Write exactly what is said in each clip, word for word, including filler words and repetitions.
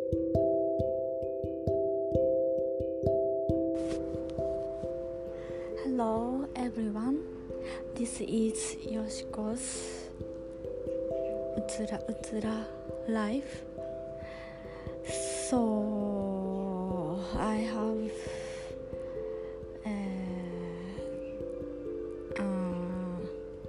Hello everyone, this is Yoshiko's Utsura Utsura Life. So I have uh, uh,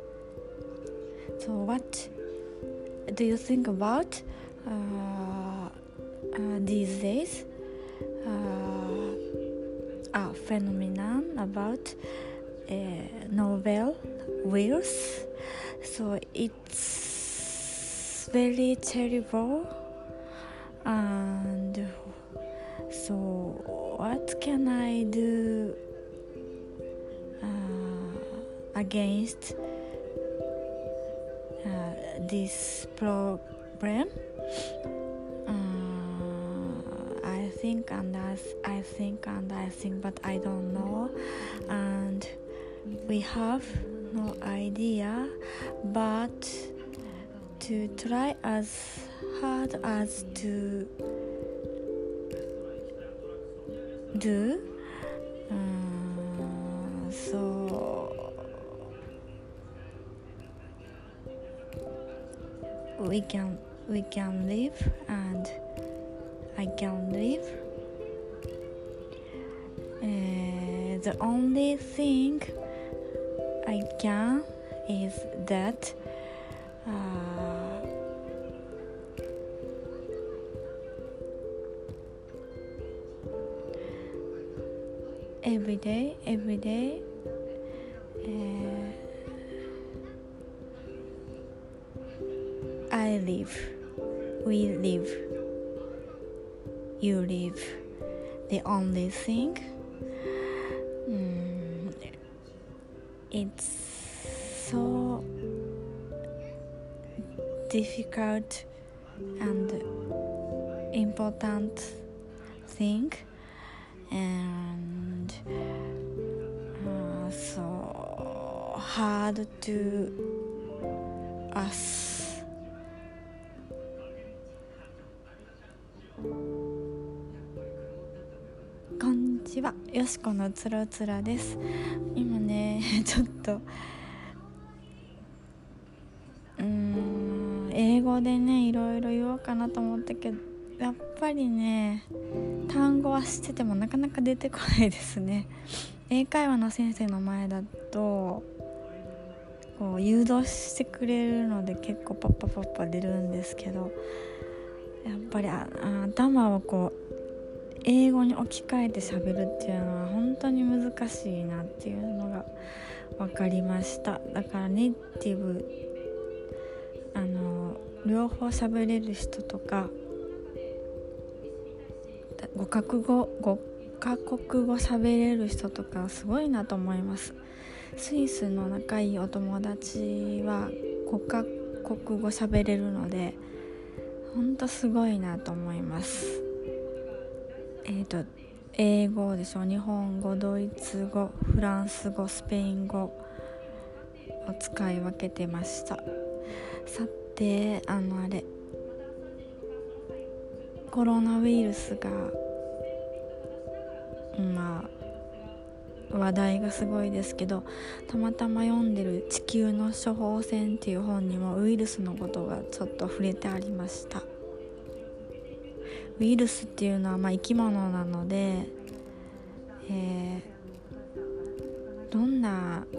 so what do you think about uh, uh, these days uh, a phenomenon about uh, novel virus? So it's very terrible, and so what can I do uh, against uh, this problem? uh, I think and I, I think and I think but I don't know, and we have no idea, but to try as hard as to do uh, so we can we can live and I can live. Uh, the only thing I can is that uh, every day, every day, uh, I live, we live, you live. The only thing, mm, it's so difficult and important thing, and uh, so hard to us. こんにちは、よしこのつらつらです。今ねちょっとうーん英語でねいろいろ言おうかなと思ったけど、やっぱりね単語は知っててもなかなか出てこないですね。英会話の先生の前だとこう誘導してくれるので結構パッパパッパ出るんですけど、やっぱりあ頭をこう英語に置き換えて喋るっていうのは本当に難しいなっていうのが分かりました。だからネイティブあの両方喋れる人とかごカ国語ごカ国語喋れる人とかすごいなと思います。スイスの仲いいお友達はごカ国語喋れるので本当すごいなと思います。えーと英語でしょ、日本語、ドイツ語、フランス語、スペイン語を使い分けてました。さてあのあれコロナウイルスがまあ話題がすごいですけど、たまたま読んでる地球の処方箋っていう本にもウイルスのことがちょっと触れてありました。ウイルスっていうのはまあ生き物なので、えー、どんな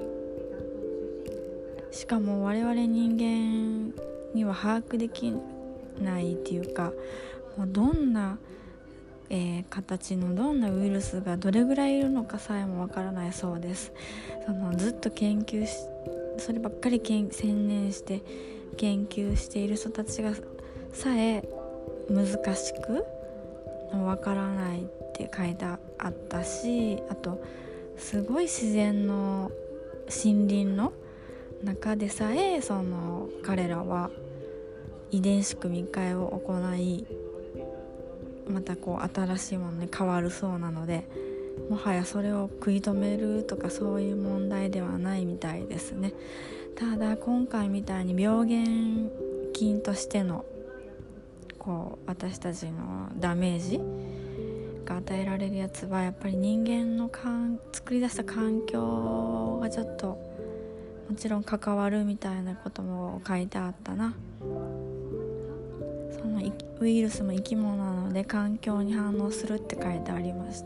しかも我々人間には把握できないっていうか、もうどんな、えー、形のどんなウイルスがどれぐらいいるのかさえもわからないそうです。そのずっと研究しそればっかり専念して研究している人たちがさえ難しくわからないって書いてあったし、あとすごい自然の森林の中でさえその彼らは遺伝子組み換えを行い、またこう新しいものに変わるそうなので、もはやそれを食い止めるとかそういう問題ではないみたいですね。ただ今回みたいに病原菌としてのこう私たちのダメージが与えられるやつはやっぱり人間のかん作り出した環境がちょっともちろん関わるみたいなことも書いてあったな。そのウイルスも生き物なので環境に反応するって書いてありました。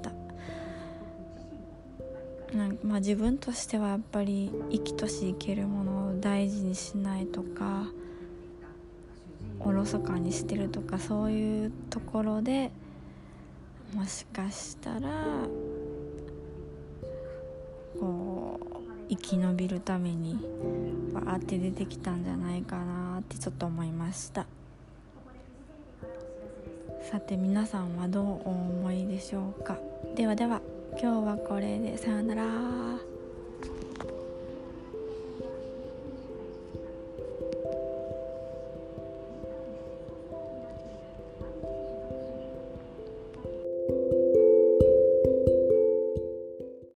なんかまあ自分としてはやっぱり生きとし生けるものを大事にしないとかおろそかにしてるとかそういうところでもしかしたらこう生き延びるためにバーって出てきたんじゃないかなってちょっと思いました。さて皆さんはどうお思いでしょうか。ではでは今日はこれでさよなら。